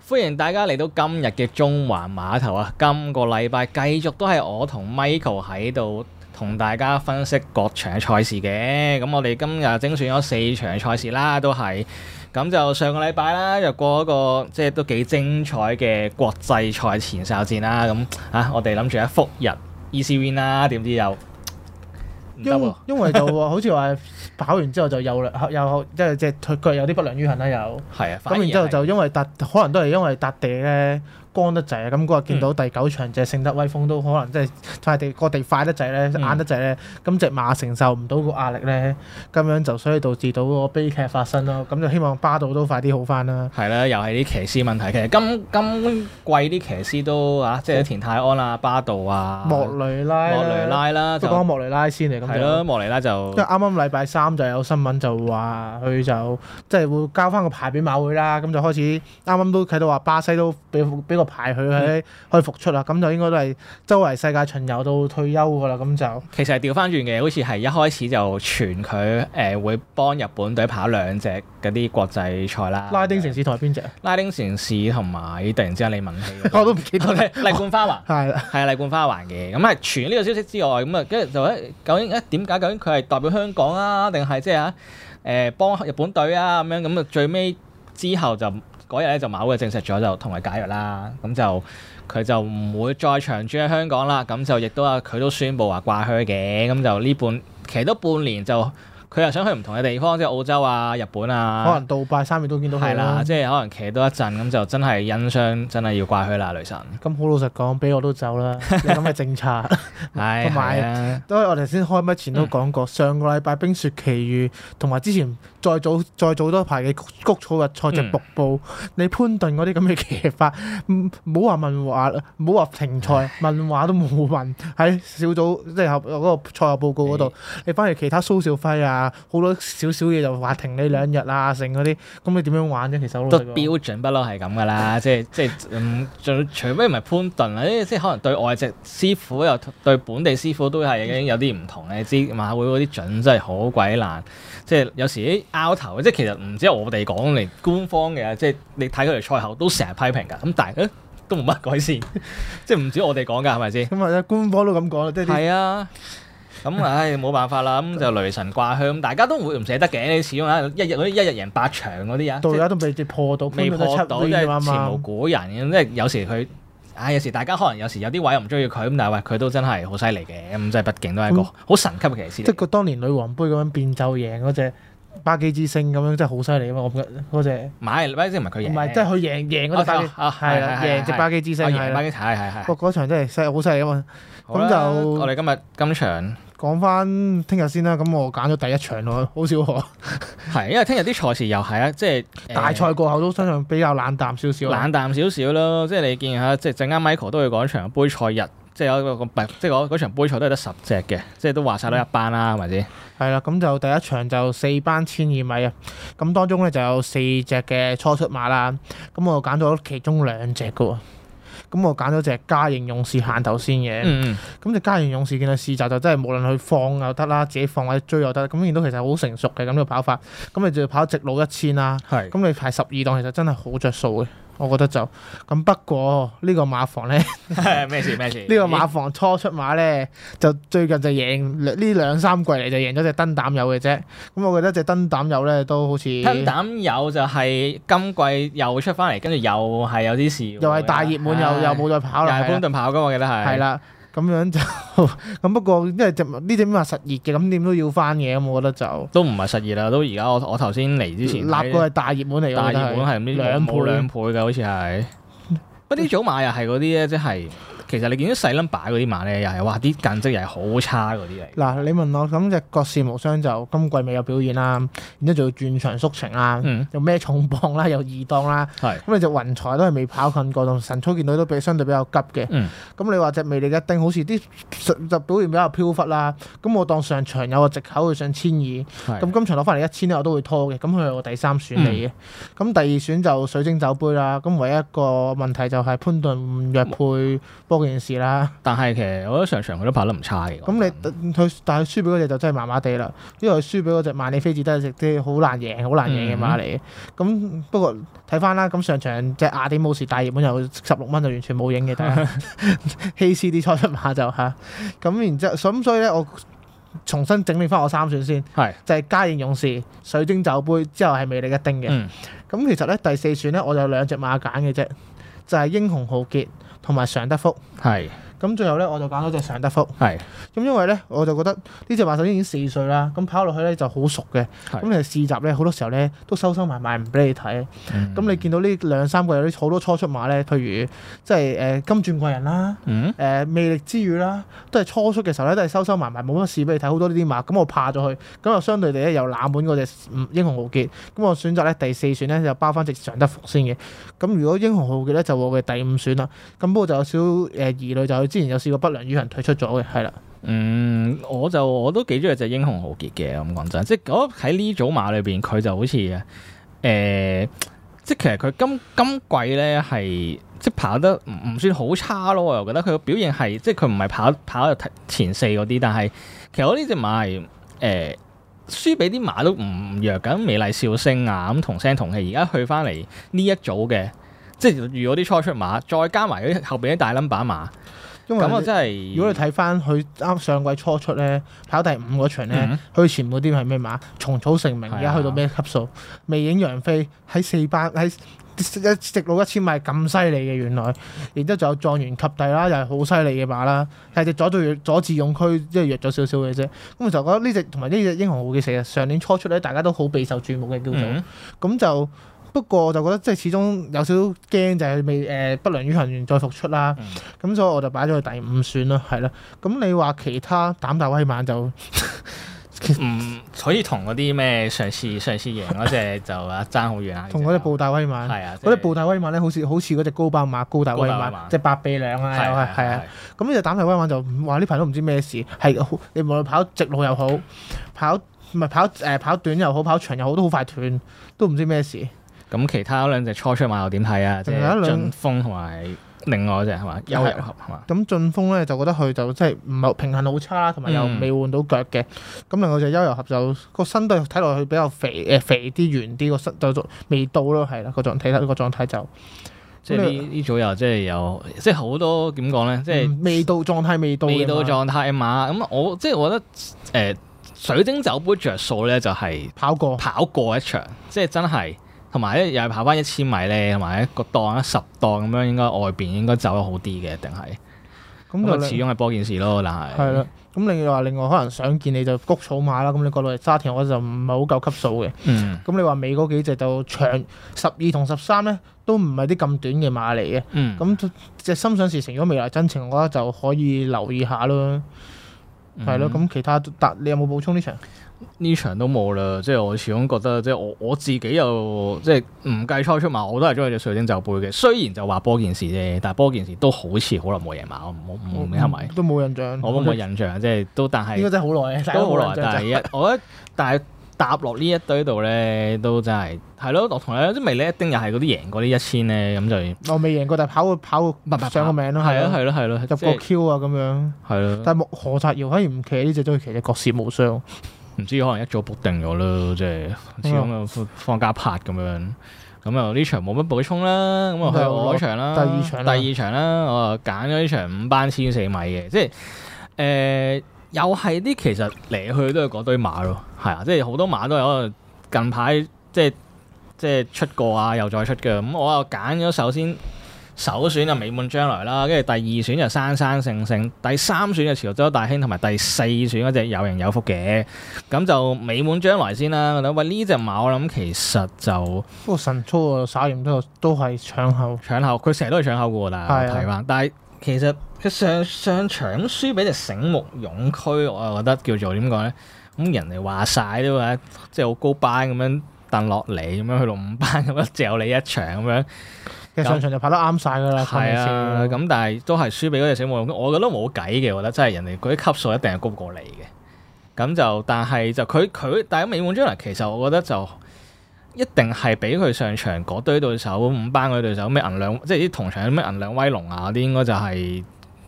歡迎大家嚟到今日嘅中環碼頭啊！今個禮拜繼續都係我同 Michael 喺度同大家分析各場賽事嘅。咁我哋今日精選咗4場賽事啦，都係咁就上個禮拜啦，就過一個即係都幾精彩嘅國際賽前哨戰啦。咁我哋諗住一復日 easy win 啦，點知又因為就好似話跑完之後就又即係隻腳有啲不良於行啦，又係啊。 咁然之後就因為可能都係因為笪地咧乾得滯啊，咁嗰日見到第9場隻聖德威風都可能即係塊地個地快得滯咧，硬得滯咧，咁隻馬承受唔到個壓力咧，咁樣就所以導致到個悲劇發生咯。咁就希望巴道都快啲好翻啦。係啦，又係啲騎師問題。其實今季啲騎師都即係田泰安啊、巴道啊、 莫雷拉啦，都講莫雷拉先嚟咁。 係咯，莫雷拉就因為啱啱禮拜3就有新聞就話佢就即係會交翻個牌俾馬會啦，咁就開始啱啱都睇到話巴西都俾個牌佢可以復出啦，咁就應該都係周圍世界巡遊到退休㗎啦，咁就其實係調翻轉嘅，好似係一開始就傳佢會幫日本隊跑2隻嗰啲國際賽啦。 拉丁城市同埋邊隻？拉丁城市同埋突然之間你問起， 我都唔記得咧。 麗冠花環係啦， 係麗冠花環嘅。咁係傳呢個消息之外，咁啊跟住就究竟點解？究竟佢係代表香港啊，定係即係幫日本隊啊咁樣？咁啊最尾之後就。嗰日咧就馬會證實咗就同佢解約啦，咁就佢就唔會再長駐喺香港啦，咁就亦都佢都宣布話掛靴嘅，咁就呢其實都半年就佢又想去唔同嘅地方，即係澳洲啊、日本啊， 可能杜拜3月都見到佢啦。係啦， 即係可能騎多一陣，咁就真係因傷真係要掛靴啦，雷神。 咁好老實講，俾我都走啦，有咁嘅政策。係，同埋都係我哋先開麥前都講過，上個禮拜冰雪奇遇同埋之前再早多排嘅谷草日賽隻瀑布，你潘頓嗰啲咁嘅騎法，唔好話問話，唔好話停賽，問話都冇問喺小組即係嗰個賽後報告嗰度，你翻嚟其他蘇兆輝啊。好多少少嘢就話停你2日啊，剩嗰啲，咁你點樣玩啫？其實都標準不嬲係咁噶啦，即係除非唔係潘頓啊，即係可能對外籍師傅又對本地師傅都係已經有啲唔同嘅。知馬會嗰啲準真係好鬼難，即係有時啲拗頭，即係其實唔止我哋講嚟官方嘅，即係你睇佢哋賽後都成日批評㗎，咁但係都冇乜改善，即係唔止我哋講㗎，係咪先？ 咁啊，官方都咁講啦，即係係啊。咁冇辦法啦，咁就雷神掛靴，大家都會唔捨得嘅。你始終一日贏8場嗰啲啊， 到而家都未破到， 即係前無古人嘅。即係有時佢，有時大家可能有時有啲位又唔中意佢，咁但係佢都真係好犀利嘅。咁即係畢竟都係一個好神級嘅騎師。 即係佢當年女王杯咁樣變奏贏嗰隻巴基之星咁樣，真係好犀利啊嘛！我覺得嗰隻巴基之星唔係佢贏， 唔係即係佢贏嗰隻巴基，係啦，贏隻巴基之星係啦。係嗰場真係好犀利啊嘛！咁就我哋今場。 講翻聽日先啦，咁我揀咗第1場咯，好少可。 係，因為聽日啲賽事又係即係大賽過後都相信比較冷淡少少。 冷淡少少咯，即係你見下，即係陣間 Michael 都會講場杯賽日，即係有個即係嗰場杯賽都係得10隻嘅，即係都話晒都一班啦，係咪先？係啦，咁就第1場就4班1200米啊，咁當中咧就有4隻嘅初出馬啦，咁我揀咗其中2隻嘅喎。咁我揀咗隻嘉應勇士行頭先嘅，咁隻嘉應勇士見到試閘就真係無論佢放又得啦，自己放或者追又得，咁見到其實好成熟嘅咁個跑法，咁你就要跑直路1000啦，咁你排12檔其實真係好着數嘅，我覺得就咁。不過呢個馬房咧咩事？呢個馬房初出馬咧就最近就贏呢2-3季嚟就贏咗隻燈膽友嘅啫，咁我覺得隻燈膽友咧都好似燈膽友就係今季又出翻嚟，跟住又係有啲事， 又係大熱門又冇再跑啦， 又係潘頓跑㗎，我記得係。 係啦，咁樣就咁。不過因為呢隻馬實熱嘅，咁點都要翻嘅，咁我覺得就都唔係實熱啦。都而家我頭先嚟之前立過係大熱門嚟㗎， 大熱門係2倍㗎，好似係。不過啲組馬又係嗰啲咧，即係。其實你見到細 number 嗰啲馬咧，又係哇啲近績又係好差嗰啲嚟。 嗱，你問我咁隻國士無雙就今季未有表現啦，然之後仲要轉場縮程啦，又孭重磅啦，又2檔啦，咁你隻雲彩都係未跑近過，同神操見到都相對比較急嘅。咁你話隻魅力一定好似啲就表現比較飄忽啦。咁我當上場有個藉口去上1200，咁今場攞翻嚟1000咧，我都會拖嘅。咁佢係我第3選嚟嘅。咁第2選就水晶酒杯啦。咁唯一一個問題就係潘頓唔約配波件事啦。 但係其實我覺得上場佢都跑得唔差嘅。 咁但係輸俾嗰隻就真係麻麻地啦，因為佢輸俾嗰隻萬里飛捷都係啲好難贏嘅馬嚟嘅。咁不過睇翻啦，咁上場隻雅典武士大熱門有16蚊就完全冇影嘅，但係希斯啲初出馬就嚇。咁然之後，所以咧我重新整理翻我3選先，就係嘉應勇士、水晶酒杯之後係魅力一丁嘅。咁其實咧第4選咧我就有2隻馬揀嘅啫，就係英雄浩傑同埋常德福。咁最後咧我就揀咗隻常德福。咁因為咧我就覺得呢隻馬首先已經4歲啦，咁跑落去咧就好熟嘅。咁你試閘咧好多時候咧都收埋唔俾你睇。咁你見到呢2-3個有啲好多初出馬咧，譬如即係金鑽貴人啦，魅力之語啦，都係初出嘅時候咧都係收埋冇乜試俾你睇，好多呢啲馬。咁我怕咗佢，咁就相對地咧又冷門嗰隻英雄浩傑。咁我選擇咧第4選咧就包翻隻常德福先嘅。咁如果英雄浩傑咧就我嘅第5選啦。咁不過就有少疑慮，就佢之前有試過不良於行退出咗嘅，係啦。 我都幾中意隻英雄浩傑嘅，咁講真，即係我喺呢組馬裏邊，佢就好似即係其實佢今季咧係即係跑得唔算好差咯，我又覺得佢個表現係即係佢唔係跑前4嗰啲，但係其實我呢隻馬係輸俾啲馬都唔弱㗎，美麗笑星啊咁同聲同氣，而家去翻嚟呢一組嘅。即係如果啲初出馬，再加埋嗰啲後邊啲大 number 馬，咁我真係如果你睇翻佢啱上季初出咧，跑第5嗰場咧，佢前嗰啲係咩馬？蟲草成名，而家去到咩級數？魅影楊飛喺4班喺直路1000米咁犀利嘅原來，然之後仲有狀元及第啦，又係好犀利嘅馬啦，係隻佐治勇區即係弱咗少少嘅啫。咁我就覺得呢隻同埋呢隻英雄浩傑其實上年初出咧，大家都好備受注目嘅叫做，咁就。不過我就覺得即係始終有少少驚，就係未不良於行員再復出啦。咁所以我就擺咗佢第5選啦，係啦。咁你話其他膽大威猛就可以同嗰啲咩上次贏嗰隻就爭好遠啊。 同嗰隻步大威猛係啊，嗰隻步大威猛咧好似嗰隻高班馬高大威猛，即係8臂兩啊，係啊。咁呢隻膽大威猛就話呢排都唔知咩事，係你無論跑直路又好，跑短又好，跑長又好，都好快斷，都唔知咩事。 咁其他2隻初出馬又點睇啊？即係晉峰同埋另外嗰隻係嘛？優遊俠係嘛？ 咁晉峰咧就覺得佢就即係唔係平衡好差，同埋又未換到腳嘅。咁另外隻優遊俠就個身都睇落去比較肥啲圓啲，個身就未到咯，係啦個狀態就即係呢組又即係有即係好多點講咧，即係未到狀態未到狀態馬。咁我覺得水晶酒杯着數咧就係跑過一場，即係真係。同埋咧，又係跑翻1000米咧，同埋一個檔10檔咁樣，應該外邊應該走得好啲嘅，定係咁就始終係波件事咯。但係係啦，咁另外可能想見你就谷草馬啦。咁你過到嚟沙田，我就唔係好夠級數嘅。咁你話尾嗰幾隻就長12同13咧，都唔係啲咁短嘅馬嚟嘅。咁隻心想事成，如果未來真情，我覺得就可以留意下咯。係咯，咁其他你有冇補充呢場？ 呢場都冇啦，即係我始終覺得，即係我自己又即係唔計初出馬，我都係中意隻水晶酒杯嘅。雖然就話波件事啫，但係波件事都好似好耐冇贏馬，冇咩係咪？ 都冇印象， 我都冇印象，即係都但係應該真係好耐， 都好耐。但係我覺得，但係搭落呢一堆度咧，都真係咯。我同你即係未呢一丁又係嗰啲贏過啲1000咧，咁就我未贏過，但係跑上個名咯，係咯，入個 Q 啊咁樣，係咯。但係何澤堯反而唔騎呢隻，都騎隻國士無雙。 唔知可能一早 book 定咗咯，即係始終又放假拍咁樣，咁啊呢場冇乜補充啦，咁啊去我嗰場啦，第二場啦，我啊揀咗呢場5班14米嘅，即係又係啲其實嚟去都係嗰堆馬咯，係啊，即係好多馬都有近排即係出過啊，又再出嘅，咁我又揀咗首選就美滿將來啦，跟住第2選就山山勝勝，第3選就潮州大興，同埋第4選嗰隻有型有福嘅，咁就美滿將來先啦。喂，呢隻馬我諗其實就不過神操啊，稍嫌都係搶後， 佢成日都係搶後嘅喎，但係睇翻，但係其實佢上場輸俾隻醒目勇區，我又覺得叫做點講咧？咁人哋話晒都話，即係好高班咁樣掟落嚟，咁樣去到5班咁樣嚼你一場咁樣。 其實上場就跑得啱晒㗎啦， 係啊，咁但係都係輸俾嗰隻醒目勇區，我覺得冇計嘅，我覺得真係人哋嗰啲級數一定係高過你嘅。咁就但係就佢但係美滿將來其實我覺得就一定係俾佢上場嗰堆對手5班嗰啲對手咩銀兩，即係啲同場咩銀兩威龍啊嗰啲應該就係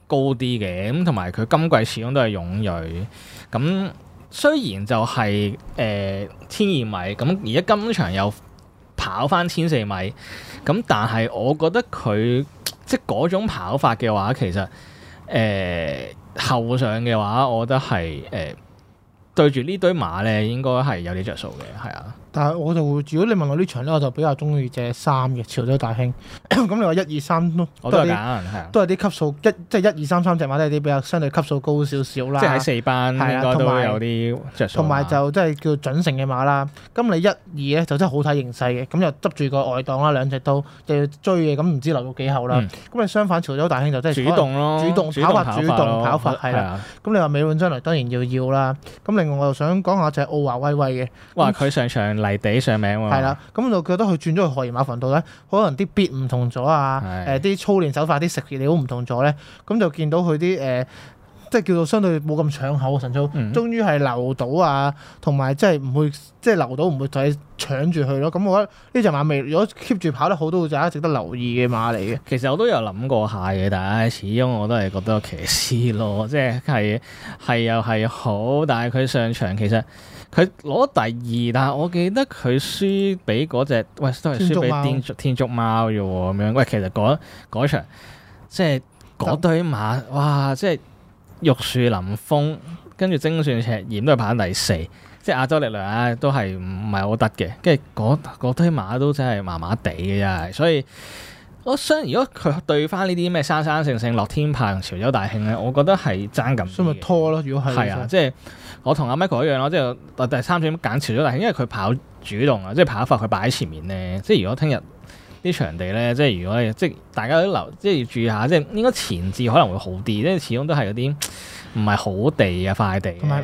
高啲嘅，咁同埋佢今季始終都係勇銳。咁雖然就係1200米，咁而家今場又跑翻1400米，咁但係我覺得佢即係嗰種跑法嘅話，其實後上嘅話，我覺得係對住呢堆馬咧，應該係有啲着數嘅，係啊。 但係我就會，如果你問我呢場咧，我就比較中意隻3嘅潮州大興。咁你話1、2、3 我都係揀，係啊， 都係啲級數即係1、2、3、3隻馬都係啲比較相對級數高少少啦。 即係喺4班應該都有啲着數。 同埋就即係叫準成嘅馬啦。咁你1、2咧就真係好睇形勢嘅，咁又執住個外檔啦，兩隻都就要追嘅，咁唔知留到幾後啦。咁你相反潮州大興就真係主動咯， 主動跑法係啦。咁你話美滿將來當然要啦。咁另外我又想講下隻奧華威威嘅。 哇！佢上場泥地上名喎。 係啦，咁我就覺得佢轉咗去荷爾馬墳度咧，可能啲 beat 唔同咗啊，啲操練手法、啲食料唔同咗咧，咁就見到佢啲即係叫做相對冇咁搶口嘅神操，終於係留到啊，同埋即係唔會即係留到唔會就係搶住佢咯。咁我覺得呢隻馬未如果 keep 住跑得好，都會大家值得留意嘅馬嚟嘅。 其實我都有諗過下嘅，但係始終我都係覺得騎師咯，即係又係好，但係佢上場其實佢攞第2，但係我記得佢輸俾嗰隻，喂都係輸俾天竺貓啫喎咁樣。喂，其實嗰場即係嗰堆馬，哇！即係玉樹臨風，跟住精算赤焰都係跑第4，即係亞洲力量啊，都係唔係好得嘅。跟住嗰堆馬都真係麻麻地嘅，真係。所以我想，如果佢對翻呢啲咩生生性樂天派同潮州大興咧，我覺得係爭咁。所以咪拖咯，如果係啊，即係我同阿 Michael 一樣咯，即係第3選揀潮州大興，因為佢跑主動啊，即係跑法佢擺喺前面咧。即係如果聽日啲場地咧，即係如果即係大家都留，即係要注意下，即係應該前置可能會好啲，即係始終都係嗰啲唔係好地啊快地。同埋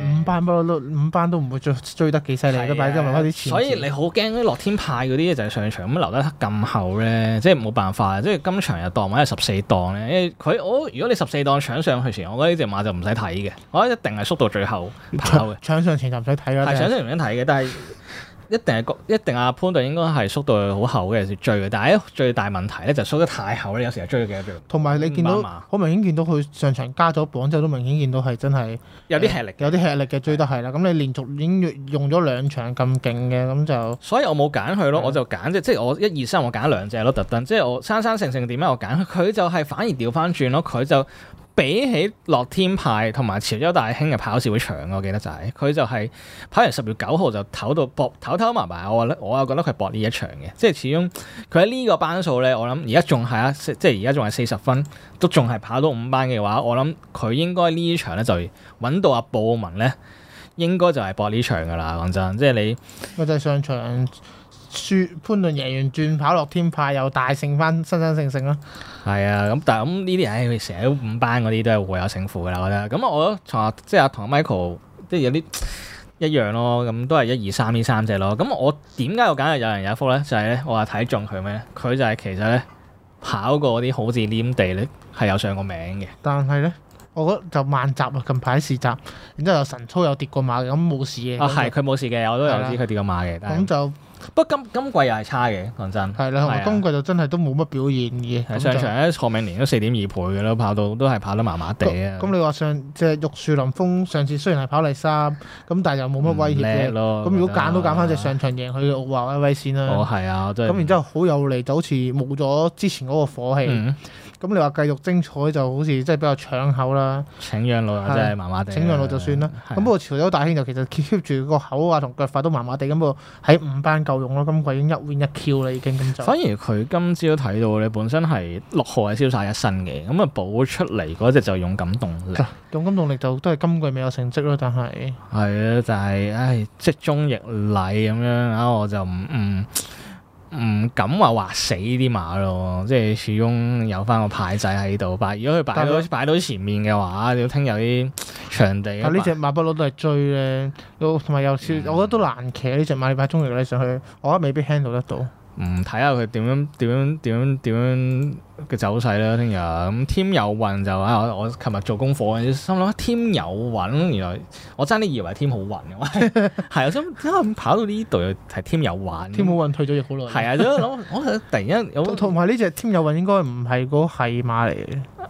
5班都唔會追得幾犀利，都擺咗埋啲前。 所以你好驚啲樂天派嗰啲就係上場咁留得咁後咧，即係冇辦法。即係今場又檔位係14檔咧，因為如果你14檔搶上去前，我覺得呢隻馬就唔使睇嘅，我覺得一定係縮到最後跑嘅。 搶上前就唔使睇啦。 係搶上前唔使睇嘅，但係。一定阿潘頓應該係縮到好後嘅時追嘅，但係最大問題咧就縮得太後咧，有時候追咗幾多秒。 同埋你見到好明顯見到佢上場加咗磅之後，都明顯見到係真係有啲吃力， 有啲吃力嘅追得係啦。咁你連續已經用咗2場咁勁嘅，咁就所以我冇揀佢咯，我就揀即係我1、2、3我揀2隻咯，特登即係我生性點解我揀佢就係反而調翻轉咯，佢就。比起樂天派同埋潮州大興嘅跑時會長，我記得就係佢就係跑完10月9號就唞到搏唞埋埋，我又覺得佢搏呢一場嘅，即係始終佢喺呢個班數咧，我諗而家仲係即係而家仲係40分，都仲係跑到5班嘅話，我諗佢應該呢場咧就揾到阿布文咧，應該就係搏呢場噶啦，講真，即係你我就係上場。潘頓贏完轉跑樂天派又大勝翻新勝咯， 係啊，咁但係咁呢啲佢成日都5班嗰啲都係會有勝負噶啦，我覺得。咁我即係同阿 Michael 即係有啲一樣咯，咁都係1、2、3呢3隻咯。咁我點解我揀有人有福咧？就係咧，我話睇中佢咩？佢就係其實咧跑過啲好似黏地咧係有上過名嘅。 但係咧，我覺得就慢閘啊，近排試閘，然之後有神操有跌過馬嘅，咁冇事嘅。係佢冇事嘅，我都有知佢跌過馬嘅。 咁就。 不過今季又係差嘅，講真。 係啦，同埋今季就真係都冇乜表現嘅。 上場咧，賀銘年都4.2倍嘅咯，都係跑得麻麻地啊。 咁你話即係玉樹臨風上次雖然係跑第3，咁但係又冇乜威脅嘅。咁如果揀都揀翻隻上場贏佢嘅奧華威威先啦。 係啊，真係。 咁然之後好有利，就好似冇咗之前嗰個火氣。咁你話繼續精彩就好似即係比較搶口啦。 請讓路真係麻麻地。 請讓路就算啦。咁不過潮州大興就其實 keep 住個口啊同腳法都麻麻地，咁不過喺5班夠用咯。今季已經1 win 1 Q 啦，已經咁就。反而佢今朝睇到你本身係6號係瀟灑一身嘅，咁啊補出嚟嗰隻就勇敢動力。 勇敢動力就都係今季未有成績咯，但係。 係啊，就係積中溢禮咁樣啊，我就唔敢話劃死啲馬咯，即係始終有翻個牌仔喺度。如果佢擺到前面嘅話，要聽有啲場地。 但呢隻馬不嬲都係追咧，同埋有少，我覺得都難騎呢隻馬。你擺中力你上去，我覺得未必 handle 得到。 睇下佢點樣嘅走勢啦。聽日咁添有運就我琴日做功課，心諗添有運，原來我爭啲以為添好運嘅，係啊，想點解跑到呢度又係添有運？ 添好運退咗役好耐。 係啊，我突然間有。 同埋呢隻添有運應該唔係嗰係馬嚟嘅。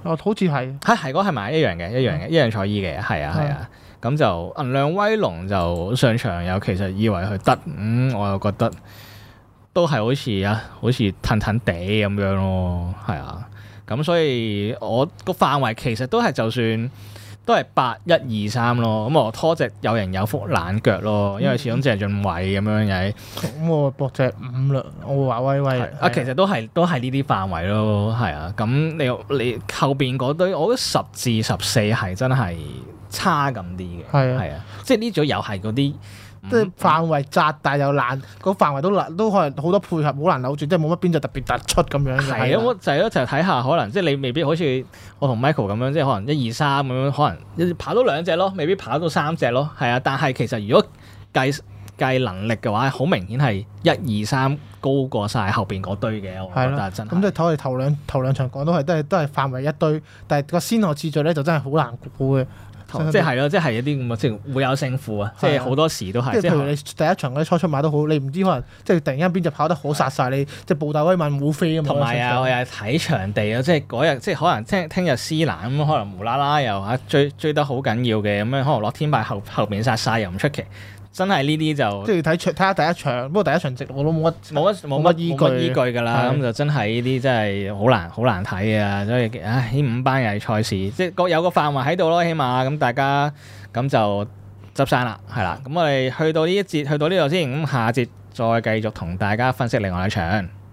好似係係嗰係咪一樣嘅，一樣賽衣嘅，係啊。咁就銀亮威龍就上場又其實以為佢得，我又覺得都係好似騰騰地咁樣咯，係啊。咁所以我個範圍其實都係就算都係8、1、2、3咯。咁我拖隻有型有福冷腳咯，因為始終鄭俊偉咁樣嘅。 咁我搏隻5啦，我話威威啊，其實都係呢啲範圍咯，係啊。咁你後邊嗰堆，我覺得10至14係真係差咁啲嘅，係啊。即係呢組又係嗰啲。 即係範圍窄，但係又難，個範圍都可能好多配合，好難扭轉，即係冇乜邊就特別突出咁樣嘅。 係啊，我就係咯，就睇下可能即係你未必好似我同 Michael 咁樣，即係可能1、2、3咁樣，可能跑到2隻咯，未必跑到3隻咯。係啊，但係其實如果計能力嘅話，好明顯係1、2、3高過晒後邊嗰堆嘅。我覺得真係。咁即係頭兩場講都係範圍一堆，但係個先後次序咧就真係好難估嘅。 即係咯，即係一啲咁嘅，即係會有勝負啊！即係好多時都係。 即係譬如你第一場嗰啲初出馬都好，你唔知可能即係突然間邊隻跑得好殺晒你，即係布大威猛虎飛啊嘛。同埋我又係睇場地啊，即係嗰日即係可能聽日斯蘭咁，可能無啦啦又追得好緊要嘅咁樣，可能落天敗後邊殺晒又唔出奇。真係呢啲就即係睇下第一場，不過第一場直我都冇乜依據㗎啦。 咁就真係呢啲真係好難睇啊！所以呢5班又係賽事，即係各有個範圍喺度咯，起碼咁大家咁就執生啦，係啦。咁我哋去到呢一節，去到呢度先，咁下節再繼續同大家分析另外一場。